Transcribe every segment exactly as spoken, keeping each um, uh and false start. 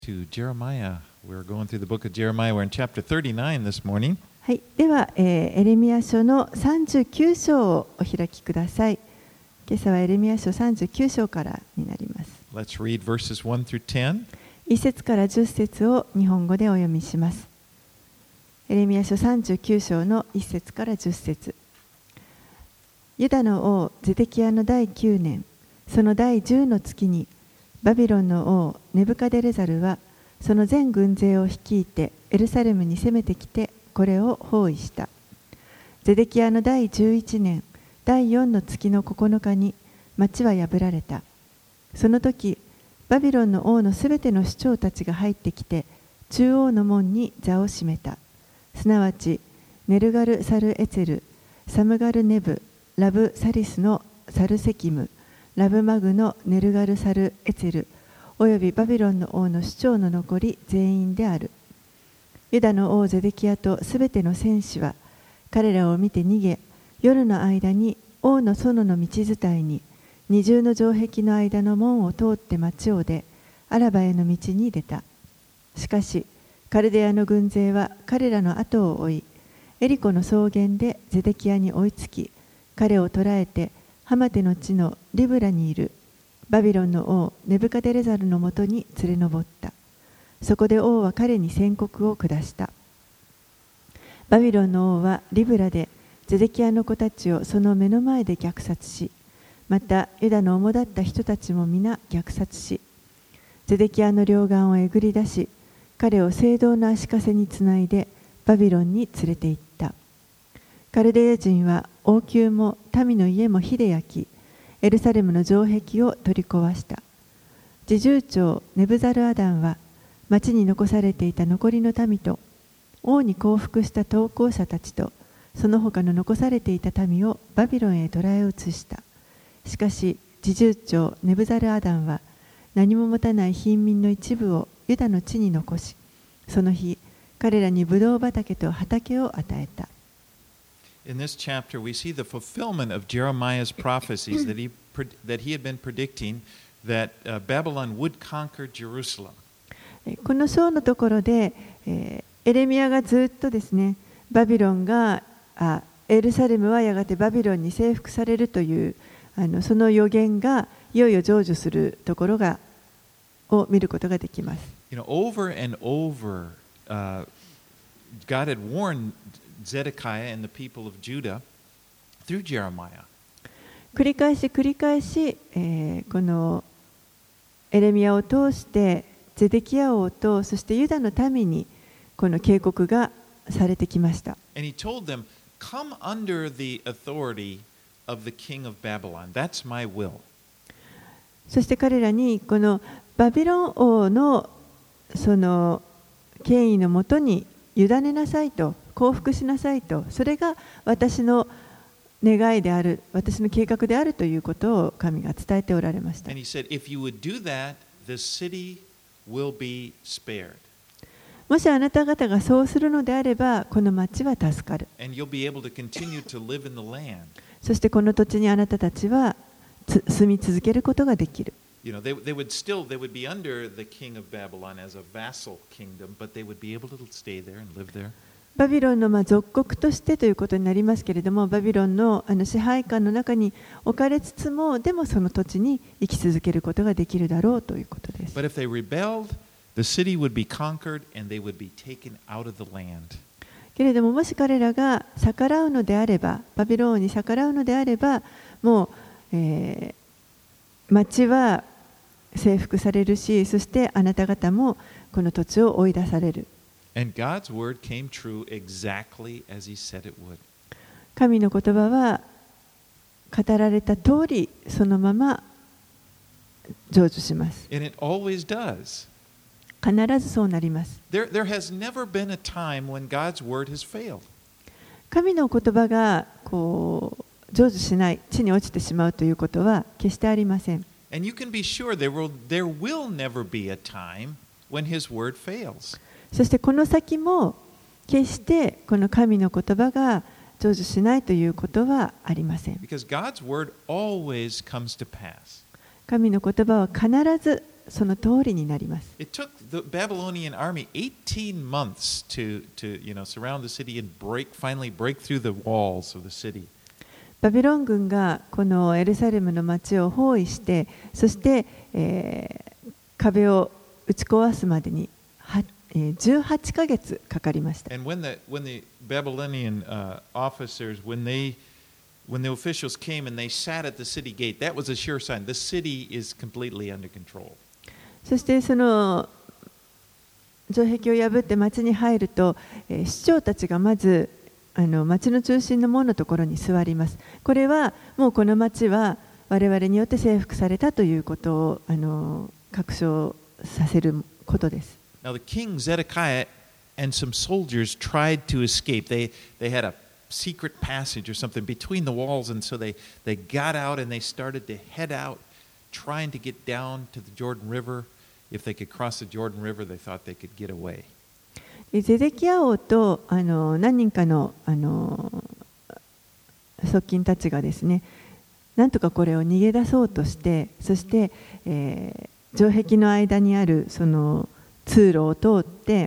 To Jeremiah. We're going through the book of Jeremiah. We're in chapter thirty-nine this morning. はい、では、えー、エレミヤ書のさんじゅうきゅう章をお開きください。今朝はエレミヤ書さんじゅうきゅう章からになります。 Let's read verses one through ten. いち節からじゅっ節を日本語でお読みします。エレミヤ書さんじゅうきゅう章のいち節からじゅっ節。ユダの王ゼデキヤのだいきゅうねん、そのだいじゅうの月に、バビロンの王ネブカデレザルはその全軍勢を率いてエルサレムに攻めてきてこれを包囲した。ゼデキヤのだいじゅういちねんだいよんの月のここのかに町は破られた。その時バビロンの王のすべての首長たちが入ってきて中央の門に座を占めた。すなわちネルガル・サルエツェル、サムガル・ネブ、ラブ・サリスのサルセキム、ラブマグのネルガル・サルエツェルおよびバビロンの王の首長の残り全員である。ユダの王ゼデキヤとすべての戦士は彼らを見て逃げ、夜の間に王の園の道伝いに二重の城壁の間の門を通って町を出、アラバへの道に出た。しかしカルデアの軍勢は彼らの後を追い、エリコの草原でゼデキヤに追いつき、彼を捕らえてハマテの地のリブラにいるバビロンの王ネブカデレザルのもとに連れ上った。そこで王は彼に宣告を下した。バビロンの王はリブラでゼデキヤの子たちをその目の前で虐殺し、またユダの主だった人たちも皆虐殺し、ゼデキヤの両眼をえぐり出し、彼を聖堂の足かせにつないでバビロンに連れて行った。カルデア人は王宮も民の家も火で焼き、エルサレムの城壁を取り壊した。侍従長ネブザルアダンは町に残されていた残りの民と王に降伏した投降者たちとその他の残されていた民をバビロンへ捕らえ移した。しかし侍従長ネブザルアダンは何も持たない貧民の一部をユダの地に残し、その日彼らにブドウ畑と畑を与えた。 In this chapter, we see the fulfillment of Jeremiah's prophecies that he, that he had been predicting that uh, Babylon would conquer Jerusalem. この章のところで、えー、エレミヤがずっとですね、バビロンがあエルサレムはやがてバビロンに征服されるというあのその予言がいよいよ成就するところがを見ることができます。 You know, over and over, uh, God had warned Zedekiah and the people of Judah through Jeremiah. 繰り返し繰り返し、えー、このエレミヤを通してゼデキヤ王とそしてユダの民にこの警告がされてきました。 And he told them, "Come under the authority of the king of Babylon. That's my will." そして彼らにこのバビロン王のその権威のもとに委ねなさいと、降伏しなさいと、それが私の願いである、私の計画であるということを神が伝えておられました。 And he said, "If you would do that, the city will be spared." もしあなた方がそうするのであれば、この町は助かる。 And you'll be able to continue to live in the land. そしてこの土地にあなたたちは住み続けることができる。 You know, they, they would still, they would be under the king of Babylon as a vassal kingdom, but they would be able to stay there and live there. バビロンのまあ属国としてということになりますけれども、バビロンのあの支配下の中に置かれつつも、でもその土地に生き続けることができるだろうということです。 But if they rebelled, the city would be conquered and they would be taken out of the land. けれども、もし彼らが逆らうのであれば、バビロンに逆らうのであれば、もう、えー、町は征服されるし、そしてあなた方もこの土地を追い出される。 And God's word came true exactly as he said it would. 神の言葉は語られた通りそのまま成就します。 And it always does. 必ずそうなります。 There, there has never been a time when God's word has failed. 神の言葉がこう成就しない、地に落ちてしまうということは決してありません。 And you can be sure there will, there will never be a time when his word fails. そしてこの先も決してこの神の言葉が成就しないということはありません。 Because God's word always comes to pass. 神の言葉は必ずその通りになります。 It took the Babylonian army eighteen months to, to you know, surround the city and break, finally break through the walls of the city. バビロン軍がこのエルサレムの町を包囲して、そして、えー、壁を打ち壊すまでには、えー、じゅうはちかげつかかりました。 And when the, when the Babylonian uh, officers, when they When the officials came and they sat at the city gate, that was a sure sign. The city is completely under control. そしてその城壁を破って町に入ると、えー、市長たちがまずあの町の中心の門のところに座ります。これはもうこの町は我々によって征服されたということをあの確証させることです。 Now the king Zedekiah and some soldiers tried to escape. They they had a secret passage or something between the walls, and so they, they got out and they started to head out, trying to get down to the Jordan River. If they could cross the Jordan River, they thought they could get away. ゼデキヤ王とあの何人かのあの側近たちがですね、なんとかこれを逃げ出そうとして、そして、えー、城壁の間にあるその通路を通って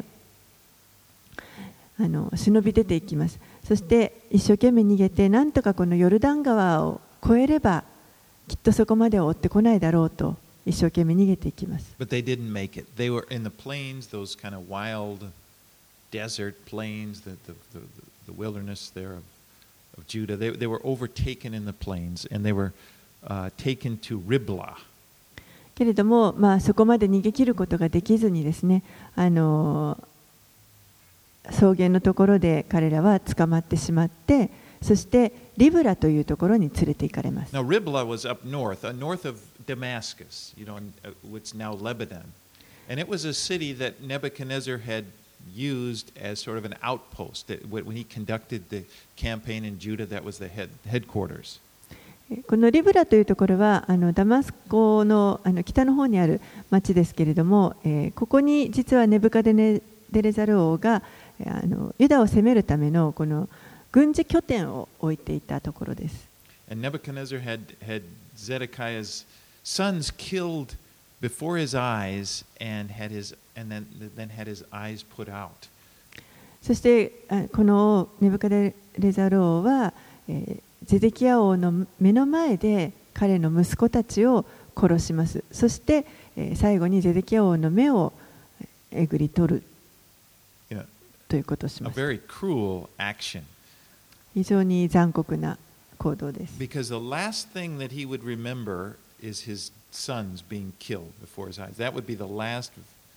あの忍び出ていきます。そして一生懸命逃げて、なんとかこのヨルダン川を越えればきっとそこまでは追ってこないだろうと一生懸命逃げていきます。 But they didn't make it. They were in the plains, those kind of wild desert plains, the, the, the, the wilderness there of, of Judah. They, they were overtaken in the plains and they were uh, taken to Riblah. けれども、まあ、そこまで逃げ切ることができずにですね、あの草原のところで彼らは捕まってしまって、そしてリブラというところに連れて行かれます。 Now Riblah was up north, uh, north of Damascus, you know, uh, what's now Lebanon, and it was a city that Nebuchadnezzar had used as sort of an outpost. That when he conducted the campaign in Judah, that was the head headquarters. このリブラというところはあのダマスコ の, あの北の方にある町ですけれども、えー、ここに実はネブカデネデザル王があのユダを攻めるためのこの軍事拠点を置いていたところです。 And Nebuchadnezzar had, had Zedekiah's sons killed before his eyes and had his and then then had his eyes put out. そしてこのネブカデレザル王は、えー、ゼデキヤ王の目の前で彼の息子たちを殺します。そして、えー、最後にゼデキヤ王の目をえぐり取る。ということをしました。 A very cruel action. 非常に残酷な行動です。 Because the last thing that he would remember is his sons being killed before his eyes. That would be the last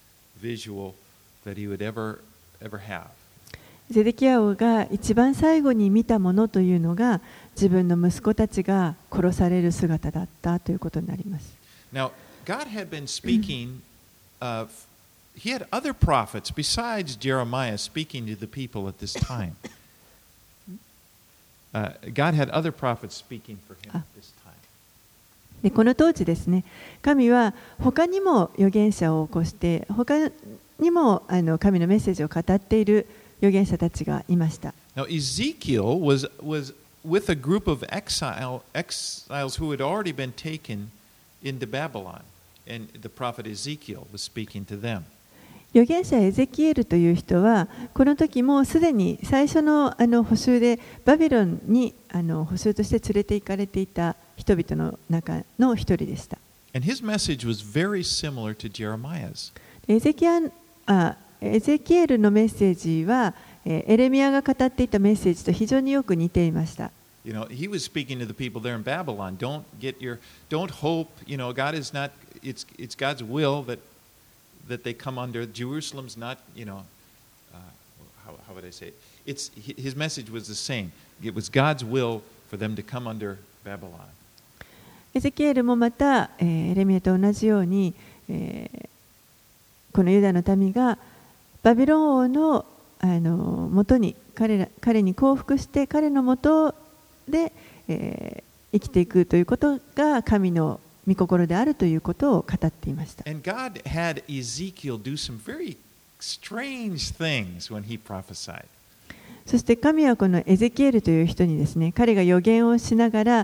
visual that he would ever ever have. ゼデキヤ王が一番最後に見たものというのが自分の息子たちが殺される姿だったということになります。 Now, God had been speaking of He had other prophets besides Jeremiah speaking to the people at this time. Uh, God had other prophets speaking for him at this time. でこの当時ですね、神は他にも預言者を起こして、他にもあの神のメッセージを語っている預言者たちがいました。 Now Ezekiel was was with a group of exile exiles who had already been taken into Babylon, and the prophet Ezekiel was speaking to them. 預言者エゼキエルという人はこの時もうすでに最初のあの捕囚でバビロンにあの捕囚として連れて行かれていた人々の中の一人でした。 And his message was very similar to Jeremiah's. エゼキアあエゼキエルのメッセージはエレミヤが語っていたメッセージと非常によく似ていました。 You know, he was speaking to the people there in Babylon. Don't get your, don't hope. You know, God is not. It's it's God's will that that they come under. Jerusalem's not. You know, uh, how how would I say it? It's his message was the same. It was God's will for them to come under Babylon. エゼキエルもまた、えー、エレミヤと同じように、えー、このユダの民がバビロン王のあの元に彼ら彼に降伏して彼の元で、えー、生きていくということが神の御心であるということを語っていました。 And God had Ezekiel do some very strange things when he prophesied. そして神はこのエゼキエルという人にですね、彼が予言をしながら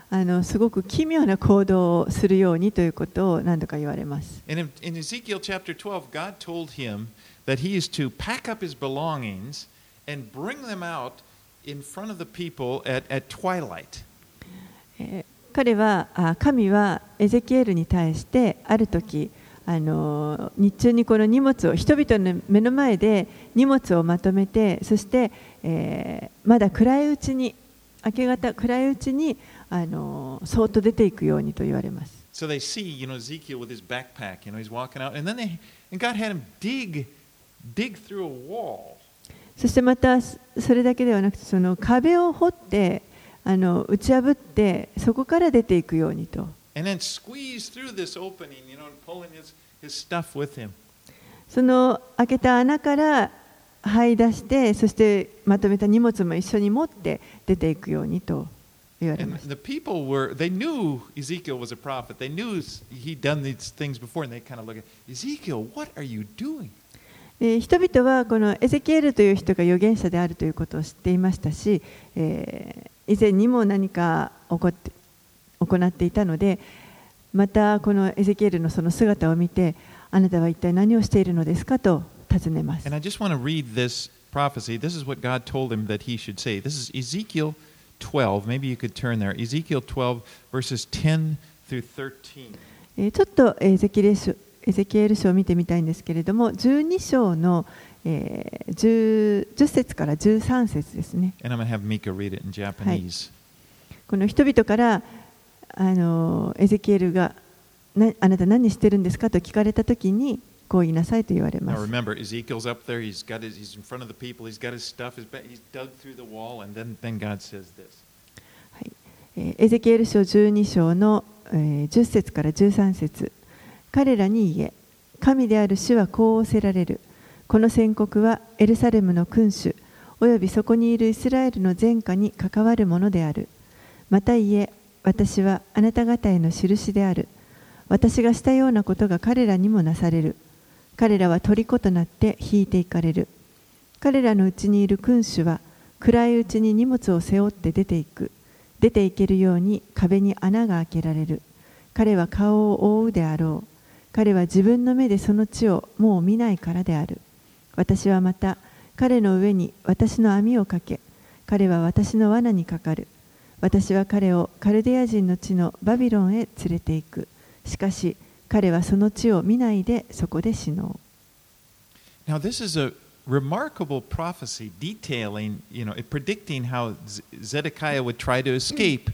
あのすごく奇妙な行動をするようにということを何度か言われます。 And in, in Ezekiel chapter twelve, God told him that he is to pack up his belongings and bring them out in front of the people at, at twilight. えー彼はあ神はエゼキエルに対してある時あの日中にこの荷物を人々の目の前で荷物をまとめてそして、えー、まだ暗いうちに明け方暗いうちにあのそーっと出ていくようにと言われます。 So they see, you know, Ezekiel with his backpack, you know, he's walking out, and then they, and God had him dig, dig through a wall. そしてまたそれだけではなくてその壁を掘ってあの打ち破ってそこから出ていくようにと。 And then squeeze through this opening, you know, and pulling his, his stuff with him. その開けた穴から這い出してそしてまとめた荷物も一緒に持って出ていくようにと言われ And ました。 the people were, they knew Ezekiel was a prophet. They knew he'd done these things before, and they kind of look at Ezekiel, what are you doing? で人々はこのエゼキエルという人が預言者であるということを知っていましたし、えー、以前にも何か起こって行っていたので、またこのエゼキエルのその姿を見て、あなたは一体何をしているのですかと尋ねます。 And I just want to read this prophecy. This is what God told him that he should say. This is Ezekiel twelve. Maybe you could turn there. Ezekiel twelve, verses ten through thirteen. えーちょっとエゼキエル書エゼキエル書を見てみたいんですけれども、じゅうに章の、えー、10, 10節からじゅうさん節ですね。 And I'm going to have Mika read it in Japanese. この人々からあのエゼキエルがなあなた何してるんですかと聞かれたときにこう言いなさいと言われま Now す。 remember, Ezekiel's up there. He's got his, he's in front of the people. He's got his stuff. His, ba- he's dug through the wall, and then, then God says this. はいえーエゼキエル書じゅうに章の、えー、じゅっ節からじゅうさん節。彼らに言え、神である主はこう仰せられる。この宣告はエルサレムの君主およびそこにいるイスラエルの全家に関わるものである。また言え、私はあなた方への印である。私がしたようなことが彼らにもなされる。彼らは虜となって引いていかれる。彼らのうちにいる君主は暗いうちに荷物を背負って出ていく。出ていけるように壁に穴が開けられる。彼は顔を覆うであろう。彼は自分の目でその地をもう見ないからである。私はまた彼の上に私の網をかけ、彼は私の罠にかかる。私は彼をカルデア人の地のバビロンへ連れて行く。しかし彼はその地を見ないでそこで死のう。 Now, this is a remarkable prophecy detailing, you know, predicting how Z- Zedekiah would try to escape,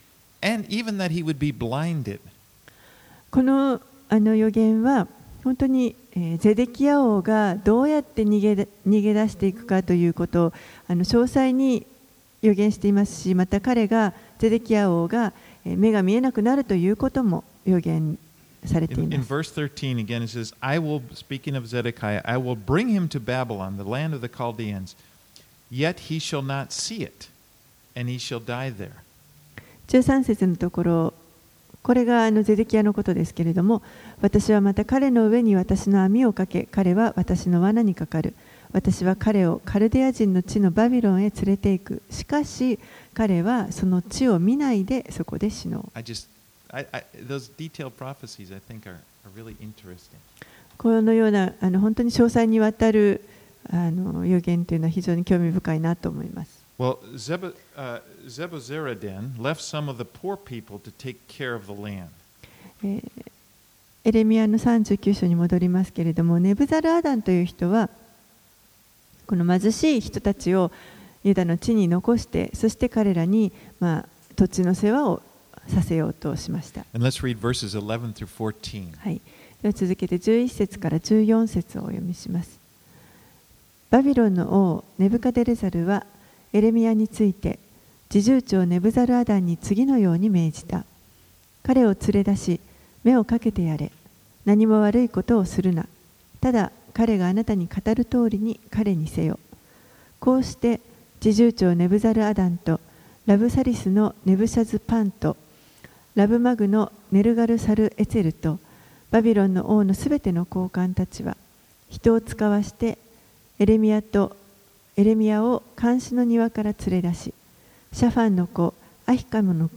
and even that he would be blinded. このあの予言は本当に、えー、ゼデキヤ王がどうやって逃げで逃げ出していくかということをあの詳細に予言していますし、また彼がゼデキヤ王が、えー、目が見えなくなるということも予言されてい In, ま in す。 verse thirteen, again, it says, I will, speaking of Zedekiah, I will bring him to Babylon, the land of the Chaldeans, yet he shall not see it, and he shall die there. じゅうさん節のところ、これがあのゼデキヤのことですけれども、私はまた彼の上に私の網をかけ、彼は私の罠にかかる。私は彼をカルデア人の地のバビロンへ連れて行く。しかし彼はその地を見ないでそこで死のう。 I just, I, I, those detailed prophecies, I think, are, are really interesting. このようなあの本当に詳細にわたるあの予言というのは非常に興味深いなと思います。 Well, Zeb, uh, Zebuzaradan left some of the poor people to take care of the land. えーエレミヤのさんじゅうきゅう章に戻りますけれども、ネブザルアダンという人はこの貧しい人たちをユダの地に残して、そして彼らに、まあ、土地の世話をさせようとしました。 And let's read verses eleven through fourteen. はい、では続けてじゅういち節からじゅうよん節をお読みします。バビロンの王ネブカデレザルはエレミヤについて侍従長ネブザルアダンに次のように命じた。彼を連れ出し目をかけてやれ。何も悪いことをするな。ただ彼があなたに語る通りに彼にせよ。こうして侍従長ネブザルアダンとラブサリスのネブシャズパンとラブマグのネルガルサルエツェルとバビロンの王のすべての高官たちは人を使わしてエレミヤとエレミヤを監視の庭から連れ出し、シャファンの子アヒカムの子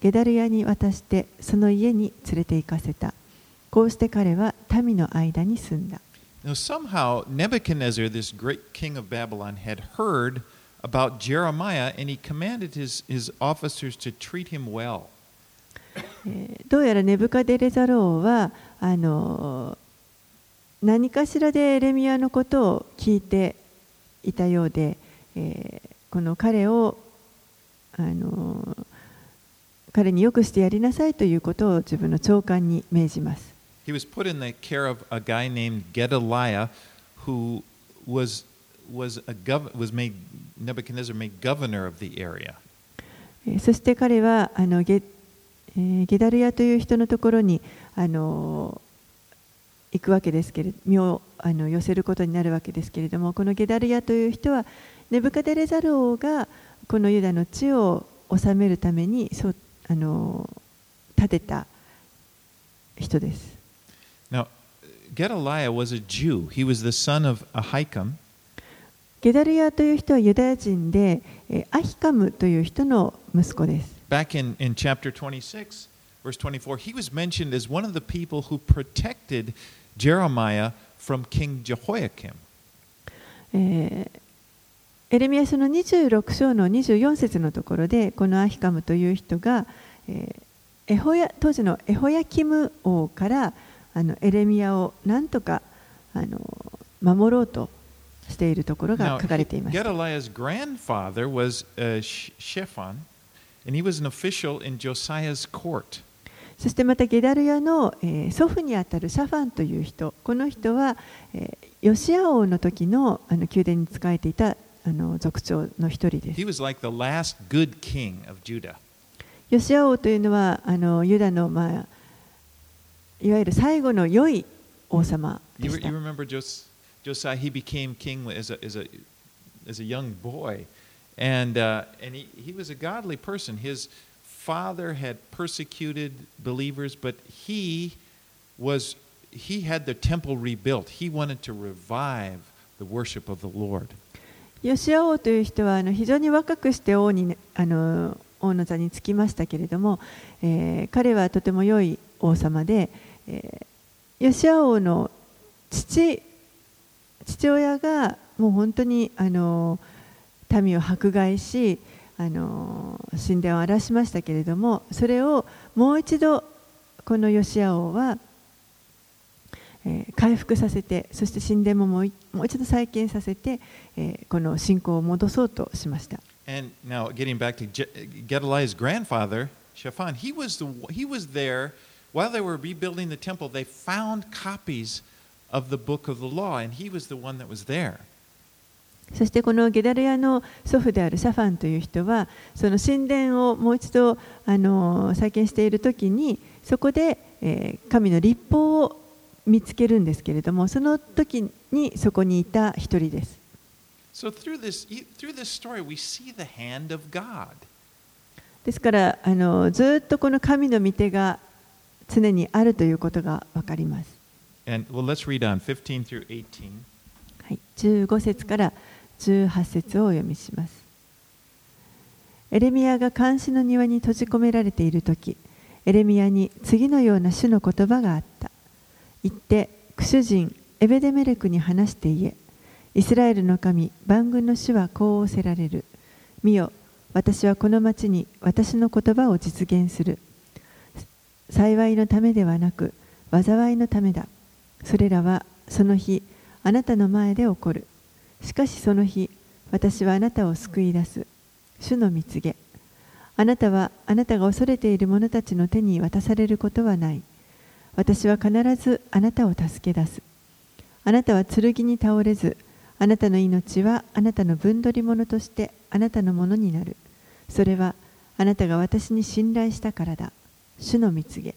ゲダルヤに渡してその家に連れて行かせた。こうして彼は民の間に住んだ。 Now, somehow, Nebuchadnezzar, this great king of Babylon, had heard about Jeremiah and he commanded his, his officers to treat him well. どうやらネブカデレザロ王はあの何かしらでエレミヤのことを聞いていたようで、えー、この彼をあの彼によくしてやりなさいということを自分の長官に命じます。 He was put in the care of a guy named Gedaliah, who was was a gov was made Nebuchadnezzar made governor of the area. そして彼はあのゲ、えー、ゲダルヤという人のところにあの行くわけですけれど、身をあの寄せることになるわけですけれども、このゲダルヤという人はネブカデレザル王がこのユダの地を治めるためにそうあの立てた人です。 Now, Gedaliah was a Jew. He was the son of Ahikam. ゲダルヤという人はユダヤ人で、アヒカムという人の息子です。 Back in, in chapter twenty-six, verse twenty-four, he was mentioned as one of the people who protected Jeremiah from King Jehoiakim. えーエレミヤ書のにじゅうろく章のにじゅうよん節のところで、このアヒカムという人が、えー、エホヤ当時のエホヤキム王からあのエレミヤをなんとかあの守ろうとしているところが書かれています。 Now, Gedaliah's grandfather was uh, Shaphan, and he was an official in Josiah's court. そしてまたゲダルヤの、えー、祖父にあたるシャファンという人、この人は、えー、ヨシア王の時のあの宮殿に仕えていたあの族長の一人です。 He was like the last good king of Judah. ヨシア王というのはあのユダの、まあ、いわゆる最後の良い王様でした。 You, you remember Jos- Josiah? He became king as a, as a, as a young boy, and, uh, and he, he was a godly person. His father had persecuted believers, but he was he had the temple rebuilt. He wanted to revive the worship of the Lord. ヨシア王という人はあの非常に若くして王にあの王の座につきましたけれども、えー、彼はとても良い王様で、えー、ヨシア王の父父親がもう本当にあの民を迫害しあの神殿を荒らしましたけれども、それをもう一度このヨシア王はえー、回復させて、そして神殿ももうもう一度再建させて、えー、この信仰を戻そうとしました。 And now getting back to Gedaliah's grandfather, Shaphan, he was the he was there while they were rebuilding the temple. They found copies of the book of the law, and he was the one that was there. そしてこのゲダルヤの祖父であるシャファンという人は、その神殿をもう一度あの再建しているときに、そこで、えー、神の律法を見つけるんですけれども、その時にそこにいた一人です。 So through this, through this story, we see the hand of God. ですからあのずっとこの神の御手が常にあるということがわかります。 And well, let's read on fifteen through eighteen. はい、じゅうご節からじゅうはち節をお読みします。エレミヤが監視の庭に閉じ込められている時、エレミヤに次のような主の言葉があった。行ってクシュ人エベデメレクに話して言え。イスラエルの神万軍の主はこう仰せられる。見よ、私はこの町に私の言葉を実現する。幸いのためではなく災いのためだ。それらはその日あなたの前で起こる。しかしその日私はあなたを救い出す。主の御告げ。あなたはあなたが恐れている者たちの手に渡されることはない。私は必ずあなたを助け出す。あなたは剣に倒れず、あなたの命はあなたの分取り物としてあなたのものになる。それはあなたが私に信頼したからだ。主の御告げ。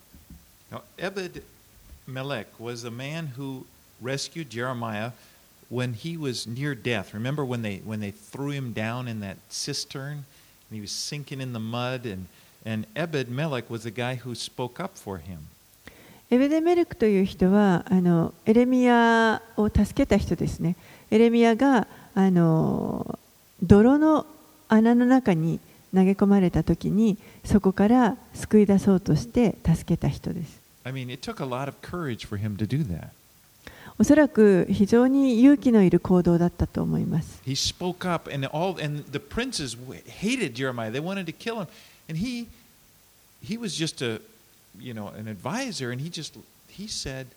Now, Ebed-Melech was the man who rescued Jeremiah when he was near death. Remember when they when they threw him down in that cistern and he was sinking in the mud, and and Ebed-Melech was the guy who spoke up for him. エベデメレクという人はあのエレミヤを助けた人ですね。エレミヤがあの泥の穴の中に投げ込まれた時にそこから救い出そうとして助けた人です。 I mean, it took a lot of courage for him to do that. おそらく非常に勇気のいる行動だったと思います。 He spoke up, and all and the princes hated Jeremiah. They wanted to kill him, and he he was just a you know an advisor, and he just he said,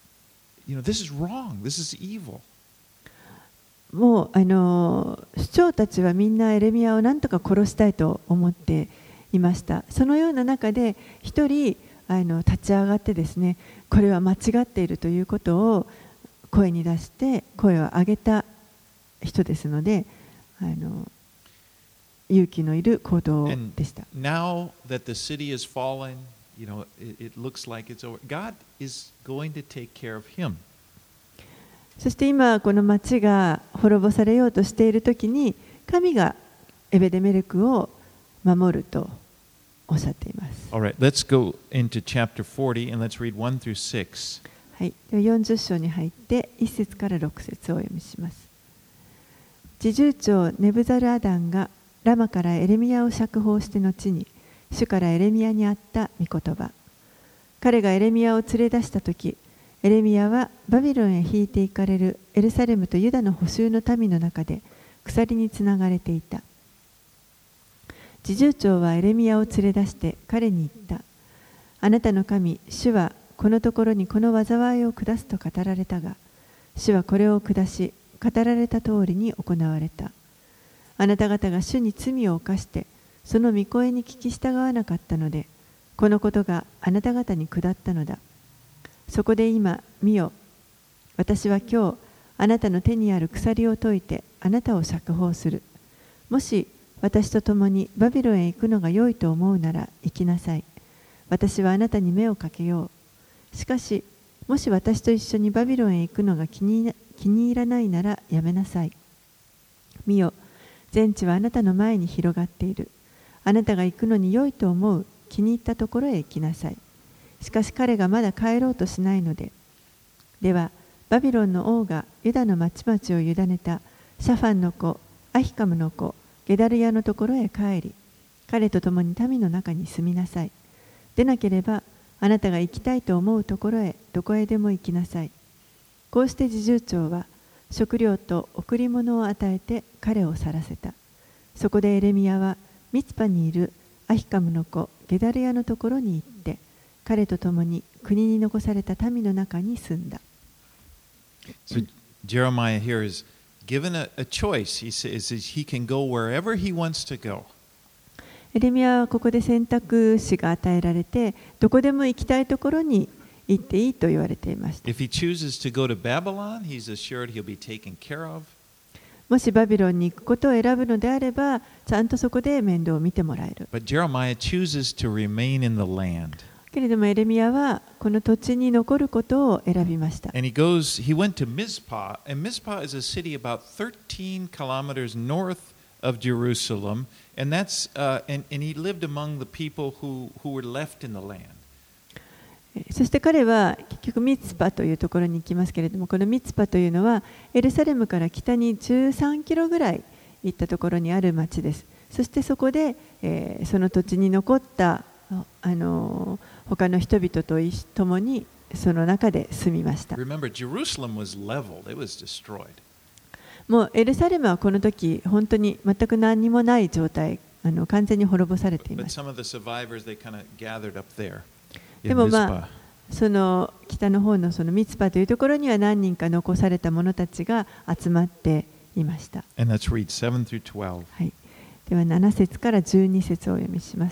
you know, this is wrong. This is evil. もうあの首長たちはみんなエレミヤを何とか殺したいと思っていました。そのような中で一人あの立ち上がってですね、これは間違っているということを声に出して声を上げた人ですので、あの勇気のいる行動でした。 Now that the city is fallen, you know, it, it looks like it's over. God is going to take care of him. そして今この町が滅ぼされようとしているときに神がエベデメレクを守るとおっしゃっています。 All right, let's go into chapter forty and let's read one through six. はい、ではよんじゅっ章に入っていっ節からろく節をお読みします。侍従長ネブザルアダンがラマからエレミヤを釈放して後に主からエレミヤにあった御言葉。彼がエレミヤを連れ出したとき、エレミヤはバビロンへ引いて行かれるエルサレムとユダの捕囚の民の中で鎖につながれていた。侍従長はエレミヤを連れ出して彼に言った。あなたの神、主はこのところにこの災いを下すと語られたが、主はこれを下し、語られた通りに行われた。あなた方が主に罪を犯して、その御声に聞き従わなかったので、このことがあなた方に下ったのだ。そこで今、見よ。私は今日、あなたの手にある鎖を解いて、あなたを釈放する。もし、私と共にバビロンへ行くのが良いと思うなら行きなさい。私はあなたに目をかけよう。しかし、もし私と一緒にバビロンへ行くのが気に、気に入らないならやめなさい。見よ、全地はあなたの前に広がっている。あなたが行くのに良いと思う気に入ったところへ行きなさい。しかし彼がまだ帰ろうとしないので。では、バビロンの王がユダの町々を委ねたシャファンの子、アヒカムの子、ゲダルヤのところへ帰り、彼と共に民の中に住みなさい。でなければ、あなたが行きたいと思うところへどこへでも行きなさい。こうして侍従長は食料と贈り物を与えて彼を去らせた。そこでエレミヤはミツパにいるアヒカムの子ゲダルヤのところに行って彼と共に国に残された民の中に住んだ。 So Jeremiah here is given a, a choice. He says he can go wherever he wants to go. エレミヤはここで選択肢が与えられて、どこでも行きたいところに行っていいと言われていました。 If he chooses to go to Babylon, he's assured he'll be taken care of. もしバビロンに行くことを選ぶのであれば、ちゃんとそこで面倒を見てもらえる。 But Jeremiah chooses to remain in the land. けれどもエレミヤはこの土地に残ることを選びました。 And he goes, he went to Mizpah, and Mizpah is a city about thirteen kilometers north of Jerusalem, and that's uh, and, and he lived among the people who, who were left in the land. そして彼は結局ミツパというところに行きますけれども、このミツパというのはエルサレムから北にじゅうさんキロぐらい行ったところにある町です。そしてそこで、えー、その土地に残ったあの他の人々と共にその中で住みました。 Remember, Jerusalem was leveled; it was destroyed. もうエルサレムはこの時本当に全く何もない状態、あの完全に滅ぼされていました。 But some of the survivors, they kind of gathered up there. でもまあその北の方のそのミツパというところには何人か残された者たちが集まっていました。 And let's read seven through twelve. はい。ではなな節からじゅうに節をお読みします。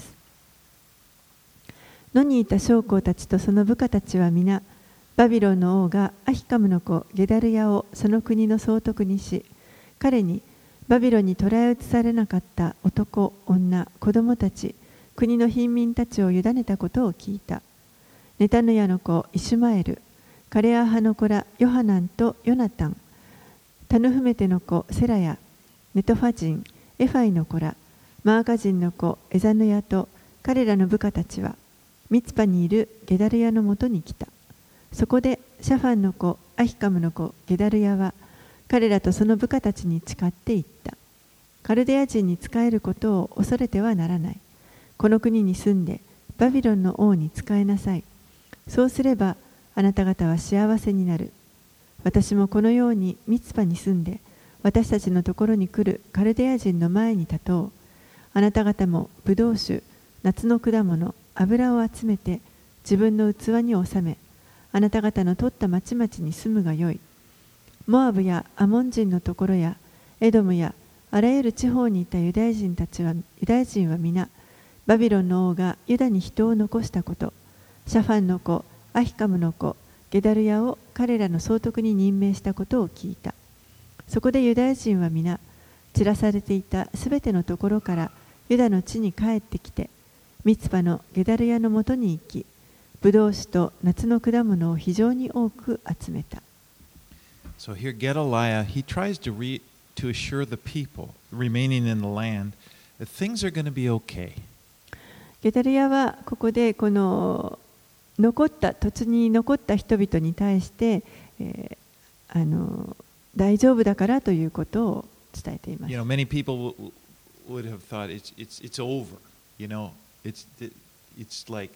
野にいた将校たちとその部下たちは皆、バビロンの王がアヒカムの子ゲダルヤをその国の総督にし、彼にバビロンに捕らえ移されなかった男、女、子供たち、国の貧民たちを委ねたことを聞いた。ネタヌヤの子イシュマエル、カレア派の子らヨハナンとヨナタン、タヌフメテの子セラヤ、ネトファ人、エファイの子ら、マーカ人の子エザヌヤと彼らの部下たちは、ミツパにいるゲダルヤのもとに来た。そこでシャファンの子アヒカムの子ゲダルヤは彼らとその部下たちに誓っていった。 カルデア人に仕えることを恐れてはならない。この国に住んでバビロンの王に仕えなさい。そうすればあなた方は幸せになる。私もこのようにミツパに住んで私たちのところに来るカルデア人の前に立とう。あなた方もブドウ酒、夏の果物、油を集めて自分の器に収め、あなた方の取った町々に住むがよい。モアブやアモン人のところやエドムやあらゆる地方にいたユダヤ人たちは、ユダヤ人は皆、バビロンの王がユダに人を残したこと、シャファンの子、アヒカムの子、ゲダルヤを彼らの総督に任命したことを聞いた。そこでユダヤ人は皆、散らされていたすべてのところからユダの地に帰ってきて、ミツパのゲダルヤのもとに行き、ブドウ酒と夏の果物を非常に多く集めた。 So here Gedaliah, he tries to re, to assure the people remaining in the land that things are going to be okay. ゲダルヤはここでこの残った土地に残った人々に対して、えー、あの大丈夫だからということを伝えています。 You know, many people would have thought it's it's it's over. You know, it's it's like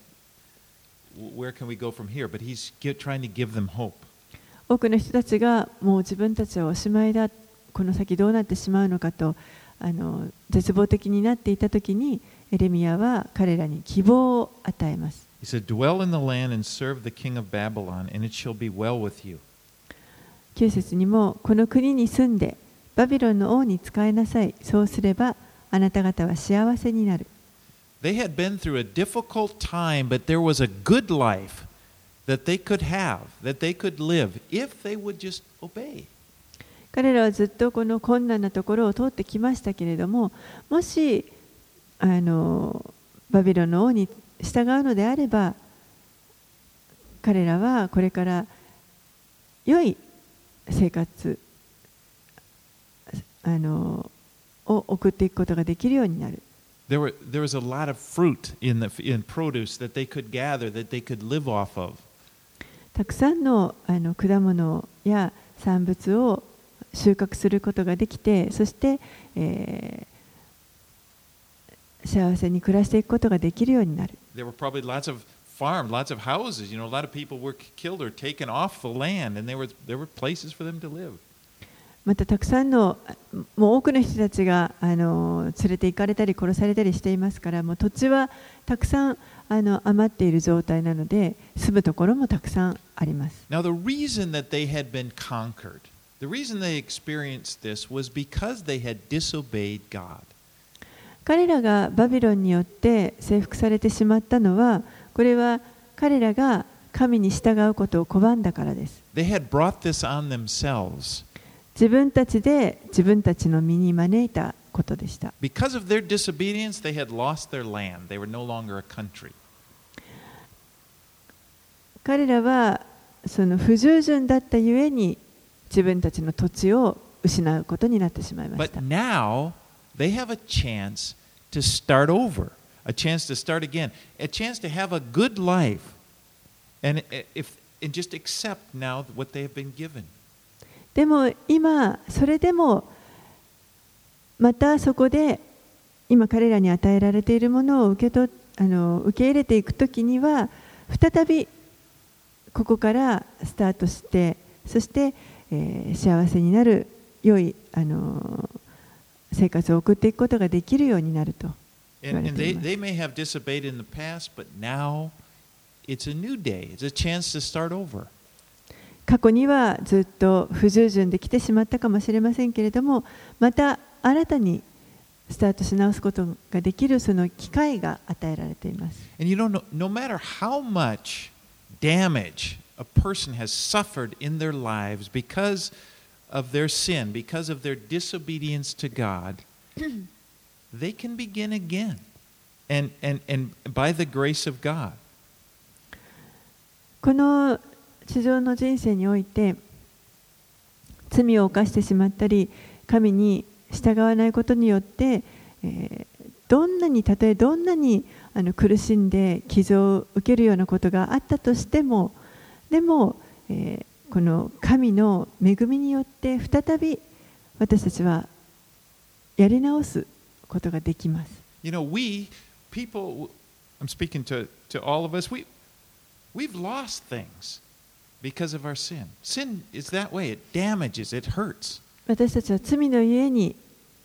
where can we go from here? But he's trying to give them hope. 多くの人たちがもう自分たちはおしまいだ、この先どうなってしまうのかとあの絶望的になっていたときに、エレミヤは彼らに希望を与えます。 He said, "Dwell in the land and serve the king of Babylon, and it shall be well with you." きゅう節にも、この国に住んでバビロンの王に仕えなさい。そうすればあなた方は幸せになる。 They had been through a difficult time, but there was a good life that they could have, that they could live, if they would just obey. 彼らはずっとこの困難なところを通ってきましたけれども、もしあのバビロンの王に従うのであれば、彼らはこれから良い生活あのを送っていくことができるようになる。 There were there was a lot of fruit in the in produce that they could gather, that they could live off of. たくさんのあの果物や産物を収穫することができて、そして、えー、幸せに暮らしていくことができるようになる。 There were probably lots of farms, lots of houses. You know, a lot of people were killed or taken off the land, and there were there were places for them to live. またたくさんのもう多くの人たちがあの連れて行かれたり殺されたりしていますから、もう土地はたくさんあの余っている状態なので、住むところもたくさんあります。 Now the reason that they had been conquered, the reason they experienced this was because they had disobeyed God. 彼らがバビロンによって征服されてしまったのは、これは彼らが神に従うことを拒んだからです。 They had brought this on themselves. 自分たちで自分たちの身に招いたことでした。 Because of their disobedience, they had lost their land. They were no longer a country. 彼らはその不従順だったゆえに自分たちの土地を失うことになってしまいました。 But now they have a chance to start over, a chance to start again, a chance to have a good life, and if and just accept now what they have been given. でも今それでもまたそこで今彼らに与えられているものを受けとあの受け入れていくときには、再びここからスタートして、そして、えー、幸せになる良いあの生活を送っていくことができるようになると言われています。 And, and they, they may have disobeyed in the past, but now it's a new day. It's a chance to start over. 過去にはずっと不従順で来てしまったかもしれませんけれども、また新たにスタートし直すことができるその機会が与えられています。 And you know, no, no matter how much damage a person has suffered in their lives because of their sin, because of their disobedience to God, they can begin again. And, and, and by the grace of God. この地上の人生において罪を犯してしまったり、神に従わないことによって、えー、どんなにたとえどんなにあの苦しんで傷を受けるようなことがあったとしても、でも、えー、この神の恵みによって再び私たちはやり直すことができます。 You know, we, people, I'm speaking to, to all of us, we, we've lost things because of our sin. Sin is that way. It damages, it hurts. 私たちは罪のゆえに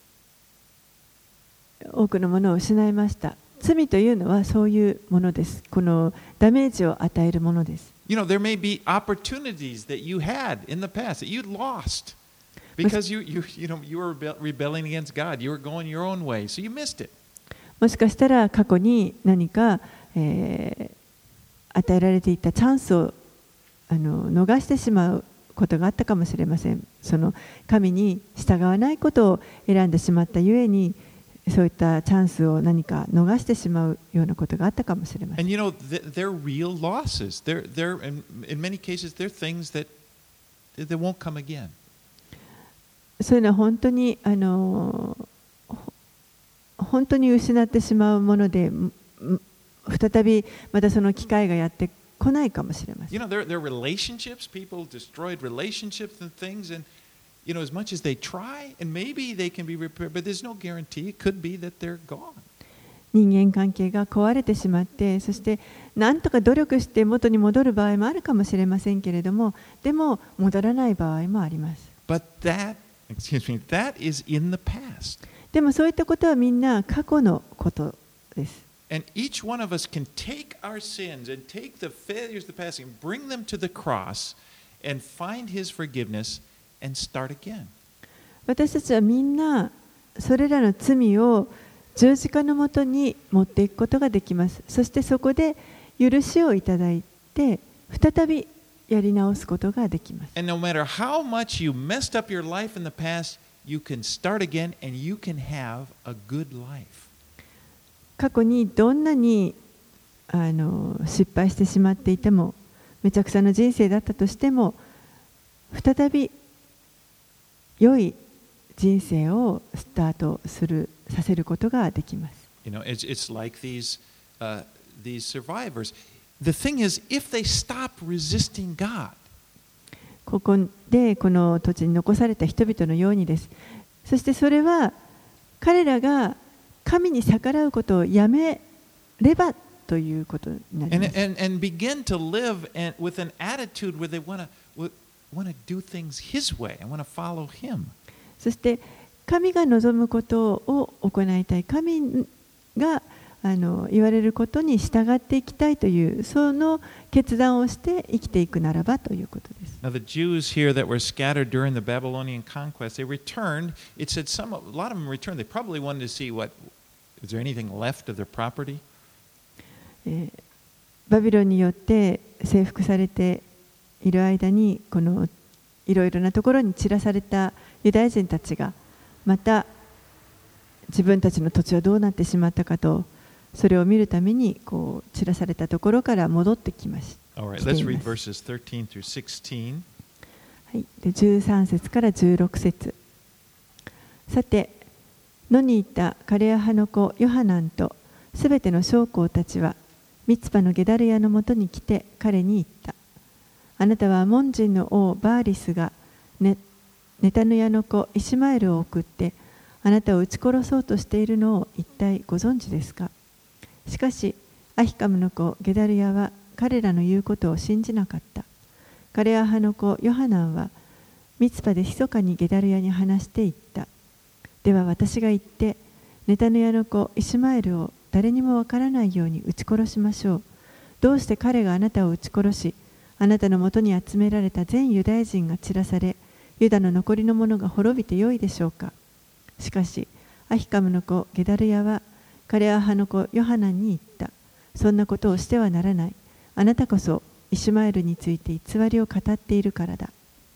多くのものを失いました。罪というのはそういうものです。このダメージを与えるものです。 You know, there may be opportunities that you had in the past that you lost because you, you, you know, you were rebelling against God. You were going your own way, so you missed it. もしかしたら過去に何か、えー、与えられていたチャンスをあの逃してしまうことがあったかもしれません。その神に従わないことを選んでしまったゆえに、そういったチャンスを何か逃してしまうようなことがあったかもしれません。 And you know, they're real losses. They're, they're, in, in many cases, they're things that, that won't come again. そういうのは本当にあの本当に失ってしまうもので、再びまたその機会がやってこないかもしれません。 You know, there, there are relationships, people destroyed relationships and things, and you know, as much as they try, and maybe they can be repaired, but there's no guarantee. It could be that they're gone. 人間関係が壊れてしまって、そして何とか努力して元に戻る場合もあるかもしれませんけれども、でも戻らない場合もあります。 But that, excuse me, that is in the past. でもそういったことはみんな過去のことです。 And each one of us can take our sins and take the failures of the past and bring them to the cross and find His forgiveness and start again. 私たちはみんなそれらの罪を十字架のもとに持っていくことができます。そしてそこで許しをいただいて再びやり直すことができます。 And no matter how much you messed up your life in the past, you can start again and you can have a good life. 過去にどんなにあの失敗してしまっていても、めちゃくちゃな人生だったとしても、再び良い人生をスタートするさせることができます。 You know, it's, it's like these, uh, these survivors. The thing is, if they stop resisting God, ここでこの土地に残された人々のようにです。そしてそれは彼らが神に逆らうことをやめればということになり and, ます。 and, and begin to live and, with an attitude where they want to want to do things His way and want to follow Him. そして神が望むことを行いたい、神があの言われることに従っていきたいというその決断をして生きていくならばということです。 Now the Jews here that were scattered during the Babylonian conquest, they returned. It said some, a lot of them returned. They probably wanted to see what, is there anything left of their property? えーバビロンによって征服されている間にこのいろいろなところに散らされたユダヤ人たちがまた自分たちの土地はどうなってしまったかとそれを見るためにこう散らされたところから戻ってきました。 All right, let's read verses thirteen through sixteen. はい、でじゅうさん節からじゅうろく節。さて、野にいたカレア派の子ヨハナンとすべての将校たちはミツパのゲダルヤのもとに来て彼に言った。あなたはアモン人の王バーリスが ネ, ネタヌヤの子イシマエルを送ってあなたを撃ち殺そうとしているのを一体ご存知ですか。しかしアヒカムの子ゲダルヤは彼らの言うことを信じなかった。カレア派の子ヨハナンはミツパで密かにゲダルヤに話して言った。では私が言ってネタヌヤの子イシュマエルを誰にもわからないように撃ち殺しましょう。どうして彼があなたを撃ち殺し、あなたのもとに集められた全ユダヤ人が散らされ、ユダの残りの者が滅びてよいでしょうか。しかし、アヒカムの子ゲダルヤはカレア派の子ヨハナンに言った。そんなことをしてはならない。あなたこそイシュマエルについて偽りを語っているからだ。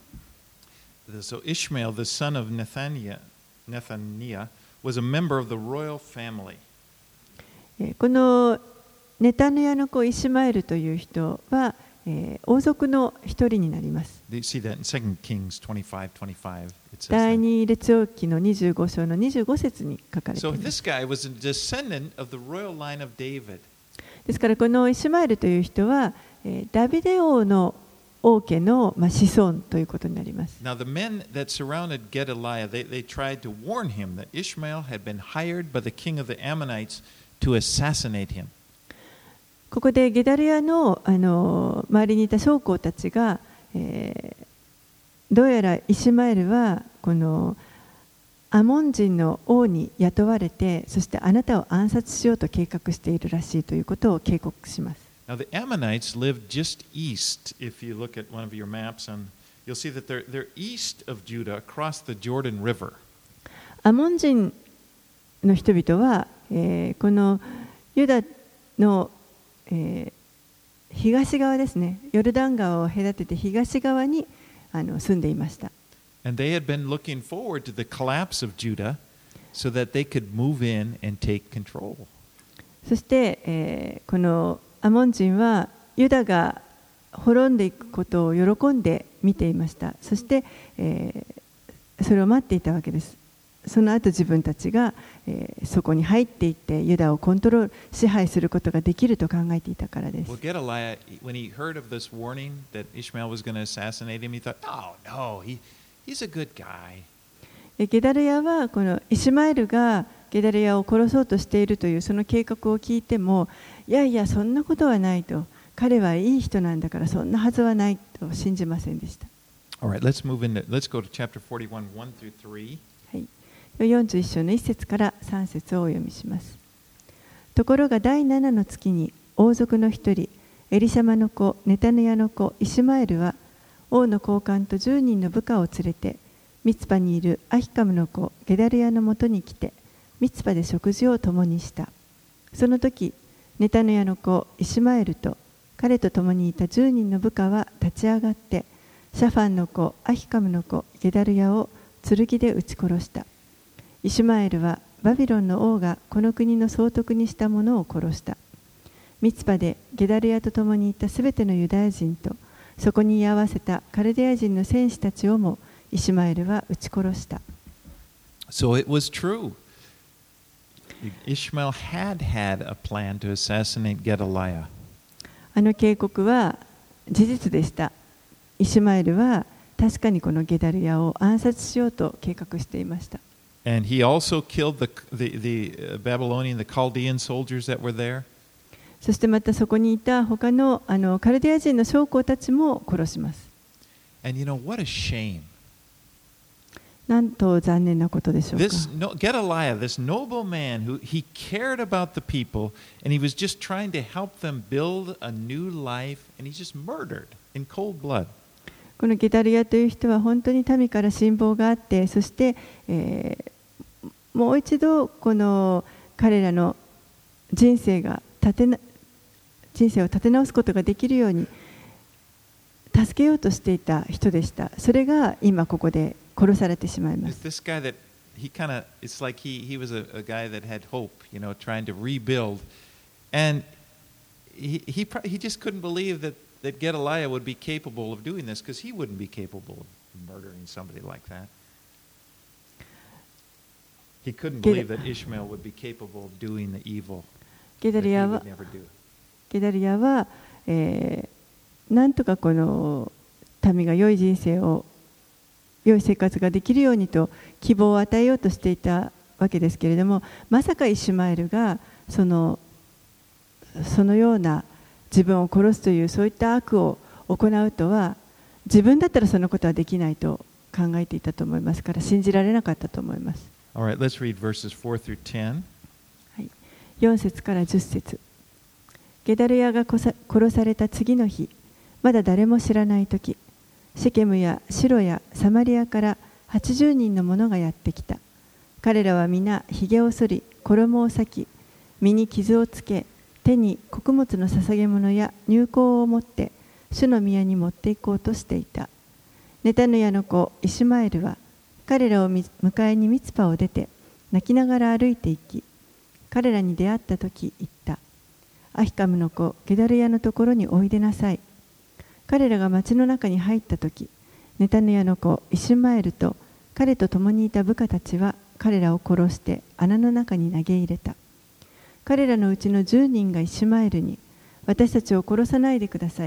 So Ishmael, the son of Nethaniah, Nethaniah, was a member of the royal family. このネタヌヤの子イシュマエルという人は、えー、王族の一人になります。第二列王記のにじゅうご章のにじゅうご節に書かれています。ですからこのイシュマエルという人は、えー、ダビデ王の王家の、まあ、子孫ということになります。 Now, the men that surrounded Gedaliah, they, they tried to warn him that Ishmael had been hired by the king of the Ammonites to assassinate him. ここでゲダルヤの、あの周りにいた将校たちが、えー、どうやらイシュマエルはこのアモン人の王に雇われて、そしてあなたを暗殺しようと計画しているらしいということを警告します。 Now, the Ammonites lived just east. If you look at one of your maps, and you'll see that they're, they're east of Judah across the Jordan River. アモン人の人々は、えー、このユダの、えー、東側ですね、ヨルダン川を隔てて東側にあの住んでいました。 And they had been looking forward to the collapse of Judah so that they could move in and take control. そして、えー、このアモン人はユダが滅んでいくことを喜んで見ていました。そして、えー、それを待っていたわけです。その後自分たちが、えー、そこに入っていってユダをコントロール支配することができると考えていたからです。 Well, Gedaliah, when he heard of this warning that Ishmael was going to assassinate him, he thought, "Oh no, he he's a good guy." ゲダルヤはこのイシュマエルがゲダルヤを殺そうとしているというその計画を聞いても、いやいやそんなことはないと、彼はいい人なんだからそんなはずはないと信じませんでした。 All right, let's move into let's go to chapter forty-one, one through three. はい、よんじゅういっ章のいっ節からさん節をお読みします。ところが第ななの月に王族の一人エリシャマの子ネタヌヤの子イシュマエルは王の高官とじゅうにんの部下を連れてミツパにいるアヒカムの子ゲダルヤのもとに来てミツパで食事を共にした。その時ネタヌヤの子イシュマエルと彼と共にいたじゅうにんの部下は立ち上がってシャファンの子アヒカムの子ゲダルヤを剣で撃ち殺した。イシュマエルはバビロンの王がこの国の総督にした者を殺した。ミツパでゲダルヤと共にいたすべてのユダヤ人とそこに居合わせたカルデア人の戦士たちをもイシュマエルは撃ち殺した。 So it was true. Ishmael had had a plan to assassinate Gedaliah. あの警告は事実でした。イシュマエルは確かにこのゲダルヤを暗殺しようと計画していました。 And he also killed the, the, the Babylonian, the Chaldean soldiers that were there. そしてまたそこにいた他のあのカルデア人の将校たちも殺します。 And you know, what a shame. なんと残念なことでしょうか。 This no, Gedaliah, this noble man who he cared about the people and he was just trying to help them build a new life and he just murdered in cold blood. このゲダルヤという人は本当に民から信望があって、そして、えー、もう一度この彼らの人生が立てな人生を立て直すことができるように助けようとしていた人でした。それが今ここで殺されてしまいます。 This guy that he kind of it's like he he was a, a guy that had hope, you know, trying to rebuild, and he he he just couldn't believe that that Gedaliah would be capable of doing this because he wouldn't be capable of murdering somebody like that. He couldn't believe that Ishmael would be capable of doing the evil that he would never do. ゲダルヤは、えー、なんとかこの民が良い人生を良い生活ができるようにと希望を与えようとしていたわけですけれども、まさかイシュマエルがそのそのような自分を殺すというそういった悪を行うとは、自分だったらそのことはできないと考えていたと思いますから、信じられなかったと思います。 All right, let's read verses four through ten. はい、よん節からじゅっ節。ゲダルヤが殺された次の日、まだ誰も知らないとき、シェケムやシロやサマリアからはちじゅうにんの者がやってきた。彼らは皆ひげを剃り、衣を裂き、身に傷をつけ、手に穀物の捧げ物や乳香を持って主の宮に持って行こうとしていた。ネタヌヤの子イシュマエルは彼らを迎えにミツパを出て泣きながら歩いて行き、彼らに出会った時言った。アヒカムの子ゲダルヤのところにおいでなさい。彼らが町の中に入った時、ネタヌヤの子イシュマエルと彼と共にいた部下たちは彼らを殺して穴の中に投げ入れた。彼らのうちのじゅうにんがイシュマエルに、私たちを殺さないでください。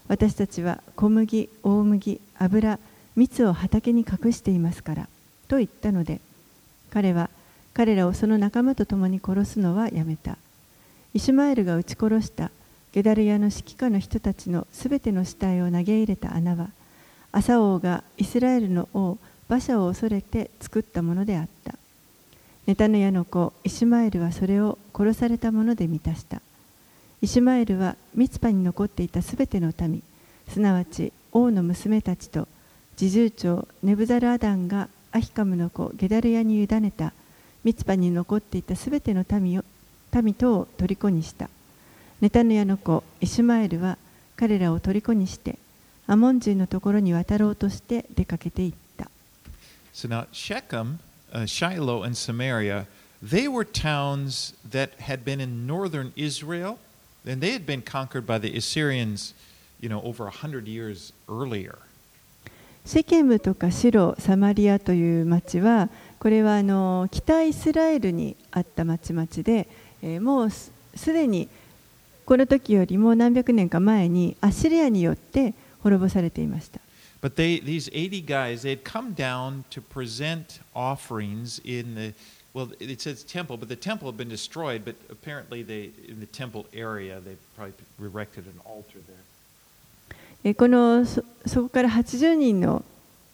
私たちは小麦、大麦、油、蜜を畑に隠していますからと言ったので、彼は彼らをその仲間と共に殺すのはやめた。イシュマエルが撃ち殺したゲダルヤの指揮下の人たちのすべての死体を投げ入れた穴は、アサ王がイスラエルの王バシャを恐れて作ったものであった。ネタヌヤの子イシュマエルはそれを殺されたもので満たした。イシュマエルはミツパに残っていたすべての民、すなわち王の娘たちと侍従長ネブザルアダンがアヒカムの子ゲダルヤに委ねたミツパに残っていたすべての民を民とを虜にした。ネタヌヤの子イシュマエルは彼らを虜にしてアモン人のところに渡ろうとして出かけていった。 So now Shechem, uh, Shiloh, and Samaria, they were towns that had been in northern Israel, and they had been conquered by the Assyrians, you know, over a hundred years earlier. シェケムとかシロ、サマリアという町は、これはあの北イスラエルにあった町々で、えー、もうすでにこの時よりも何百年か前にアッシリアによって滅ぼされていました。 But they, these eighty guys, they had come down to present offerings in the, well, it says temple, but the temple had been destroyed, but apparently they, in the temple area, they probably erected an altar there. この そ, そこからはちじゅうにんの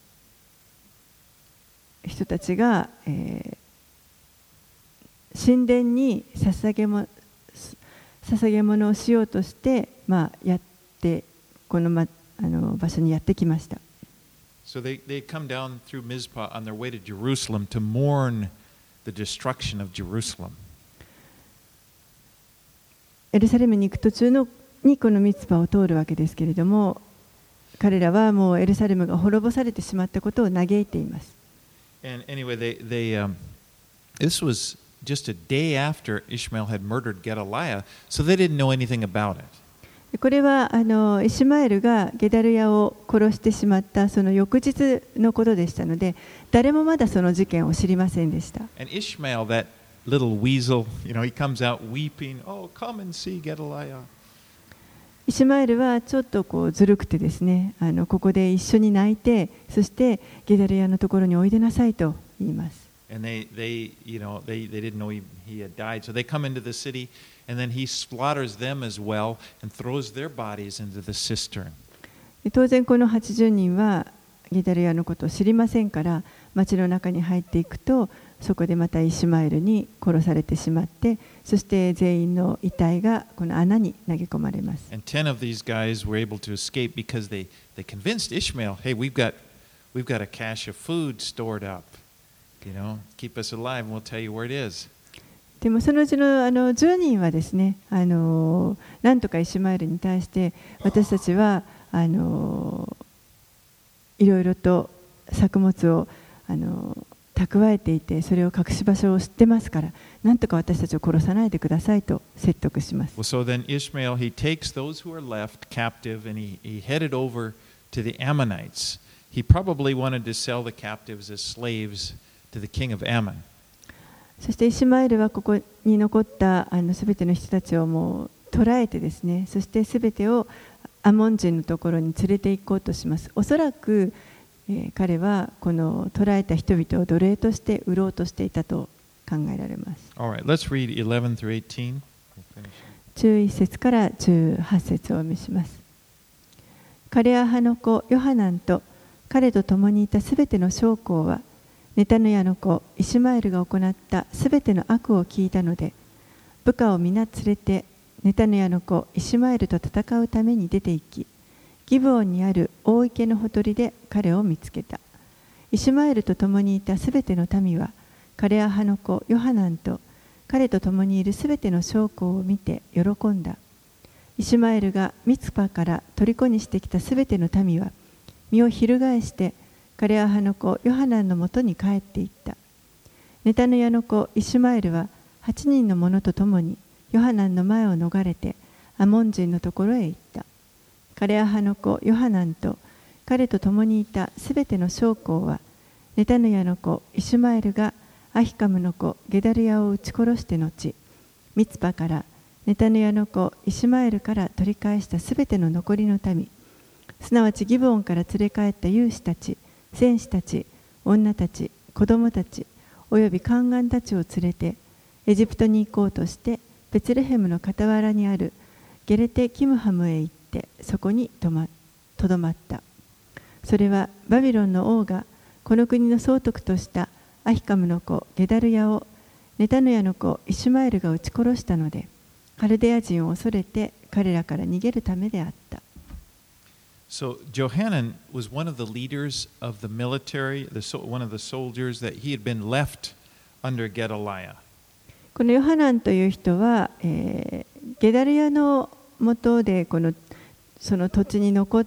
人たちが、えー、神殿に捧げも捧げ物をしようとして、まあ、やってこの、ま、あの場所にやってきました。 So they, they come down through Mizpah on their way to Jerusalem to mourn the destruction of Jerusalem. エルサレムに行く途中のにこのミツパを通るわけですけれども、彼らはもうエルサレムが滅ぼされてしまったことを嘆いています。 And anyway, they, they, um, this was just a day after Ishmael had murdered Gedaliah, so they didn't know anything about it. これはあのイシュマエルがゲダルヤを殺してしまったその翌日のことでしたので、誰もまだその事件を知りませんでした。 And Ishmael, that little weasel, you know, he comes out weeping, "Oh, come and see Gedaliah." イシュマエルはちょっとこうずるくてですね、あのここで一緒に泣いて、そしてゲダルヤのところにおいでなさいと言います。 And they, they, you know, they, they didn't know he, he had died, so they come into the city, and then he slaughters them as well and throws their bodies into the cistern. 当然このはちじゅうにんはゲダルヤのことを知りませんから、町の中に入っていくと、そこでまたイシュマエルに殺されてしまって、そして全員の遺体がこの穴に投げ込まれます。 And ten of these guys were able to escape because they, they convinced Ishmael, "Hey, we've got, we've got a cache of food stored up. You know, keep us alive and we'll tell you where it is." でもそのうちのあのじゅうにんはですね、あのなんとかイシュマエルに対して私たちはあのいろいろと作物をあの蓄えていて、それを隠し場所を知ってますから、なんとか私たちを殺さないでくださいと説得します。 Well, so then Ishmael, he takes those who are left captive and he, he headed over to the Ammonites. He probably wanted to sell the captives as slaves to the king of Ammon. そしてイシュマエルはここに残ったあのすべての人たちをもう捕らえてですね、そしてすべてをアモン人のところに連れて行こうとします。おそらく、えー、彼はこの捕らえた人々を奴隷として売ろうとしていたと考えられます。 All right, let's read eleven through eighteen. じゅういっ節からじゅうはち節をお見せします。カレア派の子ヨハナンと彼と共にいたすべての将校は、ネタヌヤの子イシュマエルが行ったすべての悪を聞いたので、部下を皆連れてネタヌヤの子イシュマエルと戦うために出て行き、ギブオンにある大池のほとりで彼を見つけた。イシュマエルと共にいたすべての民は、カレア派の子ヨハナンと彼と共にいるすべての将校を見て喜んだ。イシュマエルがミツパから虜にしてきたすべての民は、身を翻してカレア派の子ヨハナンのもとに帰っていった。ネタヌヤの子イシュマエルははちにんの者と共にヨハナンの前を逃れてアモン人のところへ行った。カレア派の子ヨハナンと彼と共にいたすべての将校は、ネタヌヤの子イシュマエルがアヒカムの子ゲダルヤを撃ち殺して後、ミツパからネタヌヤの子イシュマエルから取り返したすべての残りの民すなわちギブオンから連れ帰った勇士たち、戦士たち、女たち、子供たち、および宦官たちを連れて、エジプトに行こうとして、ベツレヘムの傍らにあるゲレテ・キムハムへ行って、そこにとま、とどまった。それはバビロンの王がこの国の総督としたアヒカムの子ゲダルヤをネタヌヤの子イシュマエルが撃ち殺したので、カルデア人を恐れて彼らから逃げるためであった。 So Johanan was one of the leaders of the military, the, one of the soldiers that he had been left under Gedaliah. このヨハナンという人は、えー、ゲダルヤの下でこのその土地に残った、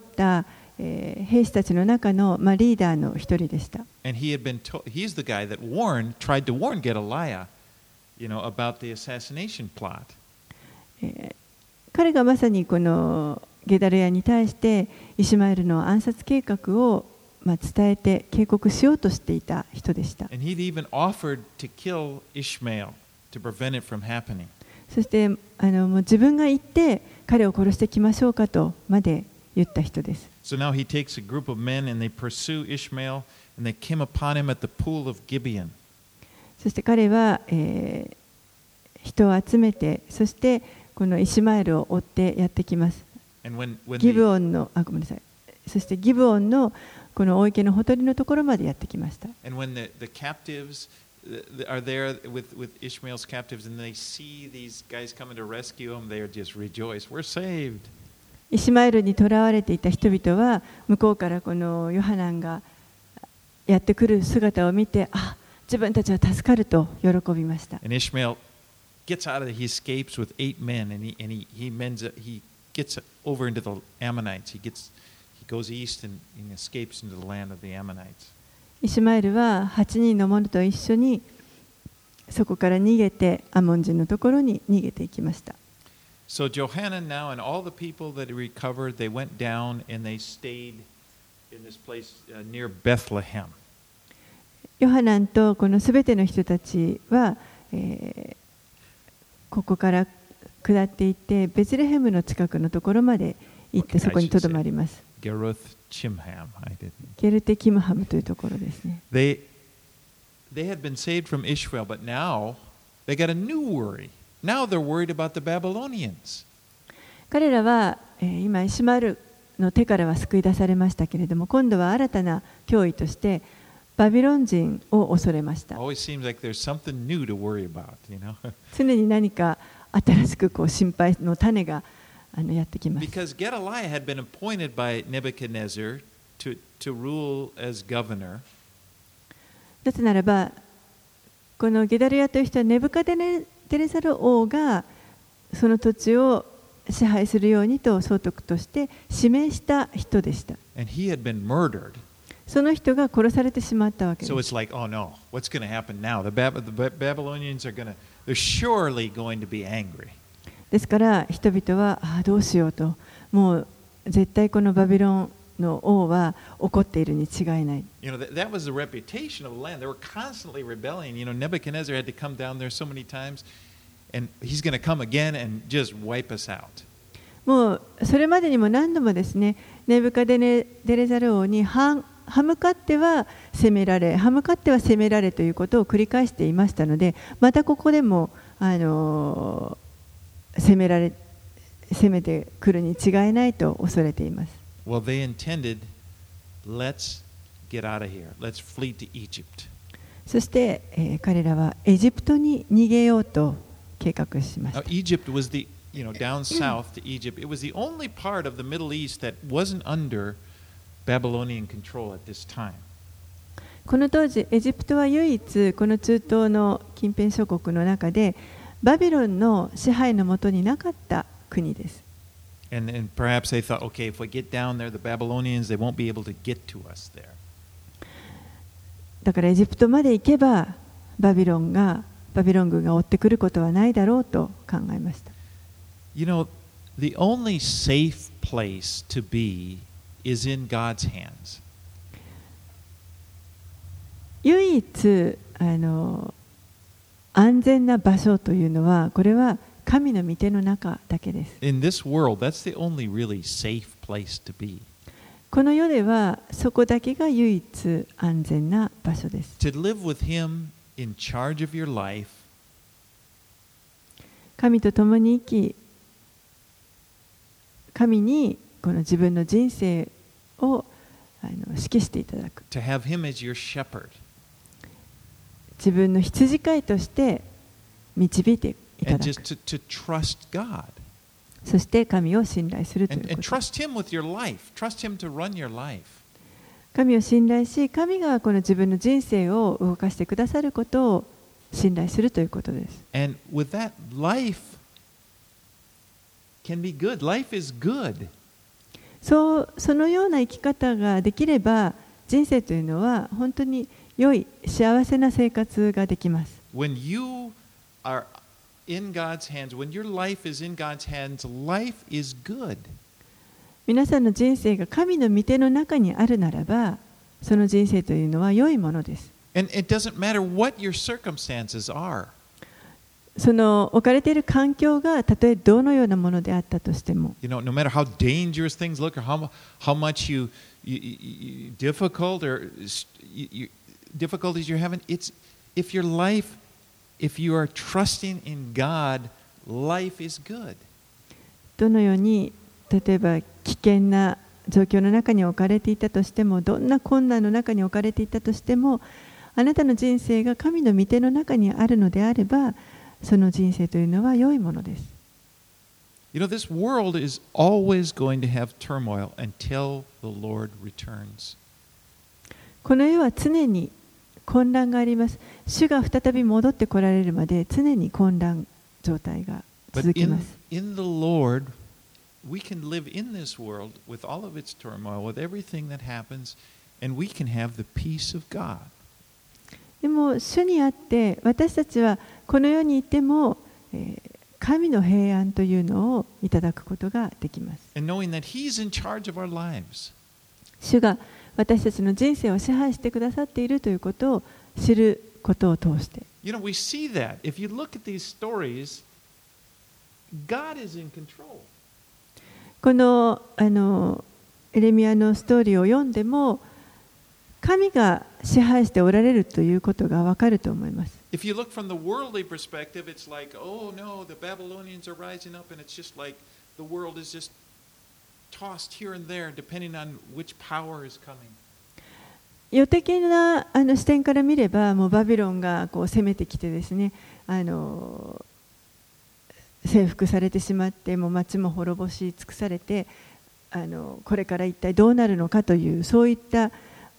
えー、兵士たちの中の、まあ、リーダーの一人でした。 And he had been told, he's the guy that warned, tried to warn Gedaliah, you know, about the assassination plot. えー、彼がまさにこのゲダルヤに対してイシュマエルの暗殺計画を、まあ、伝えて警告しようとしていた人でした。 And he'd even offered to kill Ishmael to prevent it from happening. そしてあのもう自分が行って彼を殺してきましょうかとまで言った人です。 So now he takes a group of men and they pursue Ishmael and they came upon him at the pool of Gibeon. そして彼は、えー、人を集めて、そしてこのイシュマエルを追ってやってきます。 When, when ギブオンのあごめんなさい。そしてギブオンのこの大池のほとりのところまでやってきました。 And when the, the captives are there with, with Ishmael's captives and they see these guys coming to rescue him, they are just rejoice. We're saved. イシュマエルに囚われていた人々は向こうからこのヨハナンがやってくる姿を見て、あ、自分たちは助かると喜びました。 And Ishmael gets out of it. He escapes with eight men and he and he he mends he gets over into the Ammonites. He gets he goes east and, and escapes into the land of the Ammonites. イシュマエルははちにんの者と一緒にそこから逃げてアモン人のところに逃げていきました。 So Johanan now and all the people that recovered, they went down and they stayed in this place uh, near Bethlehem. ヨハナンとこのすべての人たちは、えー、ここから下っていってベツレヘムの近くのところまで行ってそこにとどまります。 Geruth-Chimham, I didn't. ゲルテキムハムというところですね。 They they had been saved from Ishmael, but now they got a new worry. Now they're worried about the Babylonians. 彼らは、えー、今イシュマエルの手からは救い出されましたけれども、今度は新たな脅威としてバビロン人を恐れました。 Always seems like there's something new to worry about, you know. 常に何か新しくこう心配の種があのやってきます。 Because Gedaliah had been appointed by Nebuchadnezzar to to rule as governor. なぜならば、このゲダルヤという人はネブカデネテレサル王がその土地を支配するようにと総督として指名した人でした。 And he had been murdered. その人が殺されてしまったわけです。 So it's like, oh no, what's going to happen now? The, Bab- the Babylonians are going to, they're surely going to be angry. ですから人々はああどうしようと、もう絶対このバビロンの王は怒っているに違いない。 You know, that, that was the reputation of the land. They were constantly rebelling. You know, Nebuchadnezzar had to come down there so many times, and he's going to come again and just wipe us out. もうそれまでにも何度もですね、ネブカデネデレザル王に歯向かっては攻められ、歯向かっては攻められということを繰り返していましたので、またここでもあの攻められ攻めてくるに違いないと恐れています。 Well, they intended, let's get out of here. Let's flee to Egypt. そして、えー、彼らはエジプトに逃げようと計画しました。 Now, Egypt was the, you know, down south to Egypt. It was the only part of the Middle East that wasn't under Babylonian control at this time. この当時、エジプトは唯一この中東の近辺諸国の中でバビロンの支配の下になかった国です。 And, and perhaps they thought, okay, if we get down there, the Babylonians, they won't be able to get to us there. だからエジプトまで行けばバビロンがバビロン軍が追ってくることはないだろうと考えました。 You know, the only safe place to be is in God's hands. 唯一あの安全な場所というのは、これは神の御手の中だけです。 In this world, that's the only really safe place to be. この世ではそこだけが唯一安全な場所です。 To live with Him in charge of your life, 神と共に生き、神にこの自分の人生をあの指揮していただく。 to have Him as your shepherd, 自分の羊飼いとして導いていた and だ just く。 to, to trust God. そして神を信頼するとい And, う and こと。 trust Him with your life. Trust Him to run your life. 神を信頼し、神がこの自分の人生を動かしてくださることを信頼するということです。 And with that, life can be good. Life is good. そう、そのような生き方ができれば、人生というのは本当に良い、幸せな生活ができます。 When you are in God's hands, when your life is in God's hands, life is good. 皆さんの人生が神の御手の中にあるならば、その人生というのは良いものです。 And it doesn't matter what your circumstances are. その置かれている環境がたとえどのようなものであったとしても、 You know, no matter how dangerous things look or how, how much you, you, you, you difficult or you, you, difficulties you're having, it's if your life, if you are trusting in God, life is good. どのように例えば危険な状況の中に置かれていたとしても、どんな困難の中に置かれていたとしても、あなたの人生が神の御手の中にあるのであれば、その人生というのは良いものです。 You know, this world is always going to have turmoil until the Lord returns. この世は常に混乱があります。主が再び戻ってこられるまで常に混乱状態が But 続きま in, す。 in the Lord, we can live in this world with all of its turmoil, with everything that happens, and we can have the peace of God. でも主にあって私たちはこの世にいても、えー神の平安というのをいただくことができます。 And knowing that He's in charge of our lives. 主が私たちの人生を支配してくださっているということを知ることを通して、 You know, we see that. If you look at these stories, God is in control. このあのエレミヤのストーリーを読んでも神が支配しておられるということがわかると思います。 If you look from the worldly perspective, it's like, oh no, the Babylonians are rising up, and it's just like the world is just tossed here and there, depending on which power is coming. 世的なあの視点から見れば、もうバビロンがこう攻めてきてですね、あの征服されてしまって、もう町も滅ぼし尽くされて、あのこれから一体どうなるのかという、そういった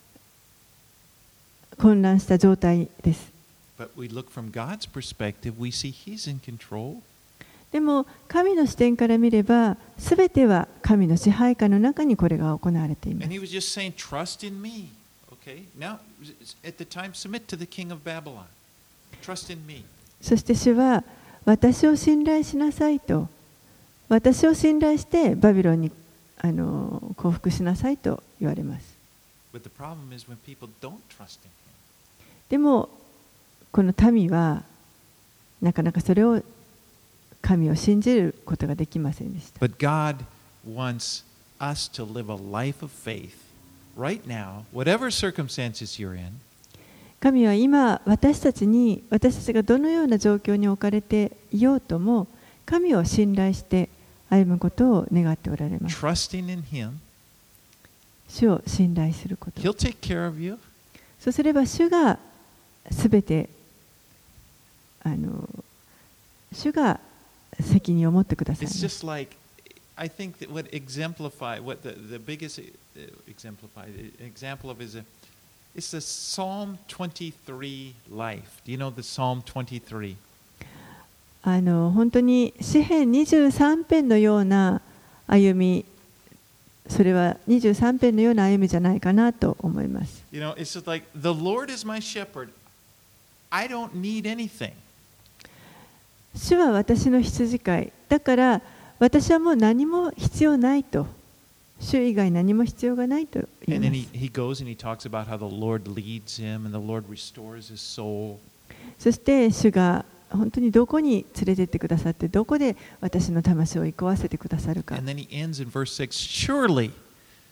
混乱した状態です。 But we look from God's perspective, we see He's in control. でも神の視点から見れば、すべては神の支配下の中にこれが行われています。 And He was just saying, trust in me. Okay? Now, at the time, submit to the king of Babylon. Trust in me. そして主は私を信頼しなさいと、私を信頼してバビロンにあの降伏しなさいと言われます。 But the problem is when people don't trust in Him. でもこの民はなかなかそれを神を信じることができませんでした。 But God wants us to live a life of faith right now, whatever circumstances you're in. 神は今私たちに、私たちがどのような状況に置かれていようとも、神を信頼して歩むことを願っておられます。 Trusting in Him. 主を信頼すること。 He'll take care of you. そうすれば主がすべてあの主が責任を持ってくださいま It's す。 just like, I think that what exemplify, what the, the biggest uh, exemplify, example of is a, it's the Psalm twenty-three life. Do you know the Psalm twenty-three? あの本当に詩編にじゅうさん編のような歩み、それはにじゅうさん編のような歩みじゃないかなと思います。 You know, it's just like, the Lord is my shepherd. I don't need anything. 主は私の羊飼い。だから私はもう何も必要ないと。主以外何も必要がないと言い And ま then す。 he, he goes and he talks about how the Lord leads him and the Lord restores his soul. そして主が本当にどこに連れてってくださって、どこで私の魂を憩わせてくださるか。 And then he ends in verse six, surely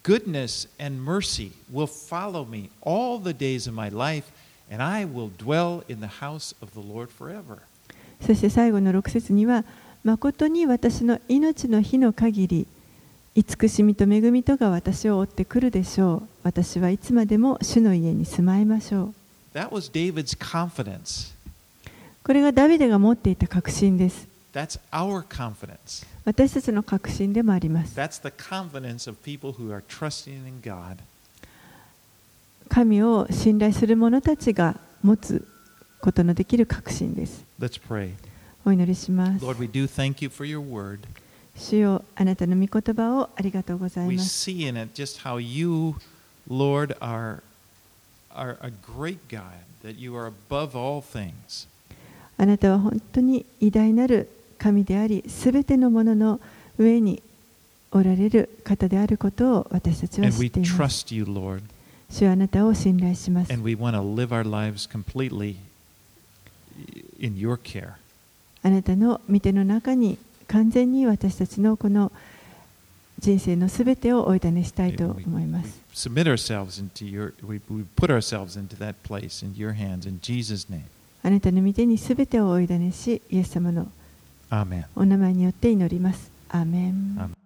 goodness and mercy will follow me all the days of my life, and I will dwell in the house of the Lord forever. そして最後のろく節には、誠に私の命の日の限り、慈しみと恵みとが私を追ってくるでしょう。私はいつまでも主の家に住まいましょう。 That was David's confidence. これがダビデが持っていた確信です。 That's our confidence. 私たちの確信でもあります。 That's the confidence of people who are trusting in God. 神を信頼する者たちが持つことのできる確信です。 Let's pray. お祈りします。 Lord, we do thank you for your word. 主よ、あなたの御言葉をありがとうござい We ます。 see in it just how you, Lord, are, are a great God, that you are above all things. あなたは本当に偉大なる神であり、すべてのものの上におられる方であることを私たちは And 知 we っています。 trust you, Lord. 主はあなたを信頼します。 And we want to live our lives completely in your care. あなたの御手の中に完全に私たちのこの人生のすべてをお委ねしたいと We, 思いま we す。 submit ourselves into your, we, we put ourselves into that place in your hands in Jesus' name. あなたの御手にすべてをお委ねし、イエス様の Amen. お名前によって祈ります。アーメン。 Amen.